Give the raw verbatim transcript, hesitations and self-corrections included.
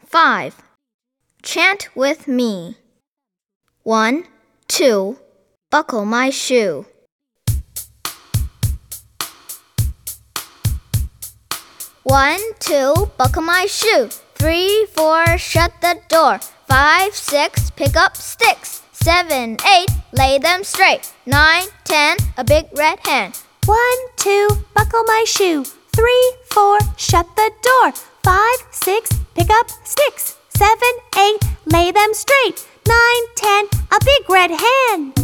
five. Chant with me. One, two, buckle my shoe. One, two, buckle my shoe. Three, four, shut the door. Five, six, pick up sticks. Seven, eight, lay them straight. Nine, ten, a big red hen. One, two, buckle my shoe. Three, four, shut the door. Five, six, pick up sticks. Seven, eight, lay them straight. Nine, ten, a big red hen.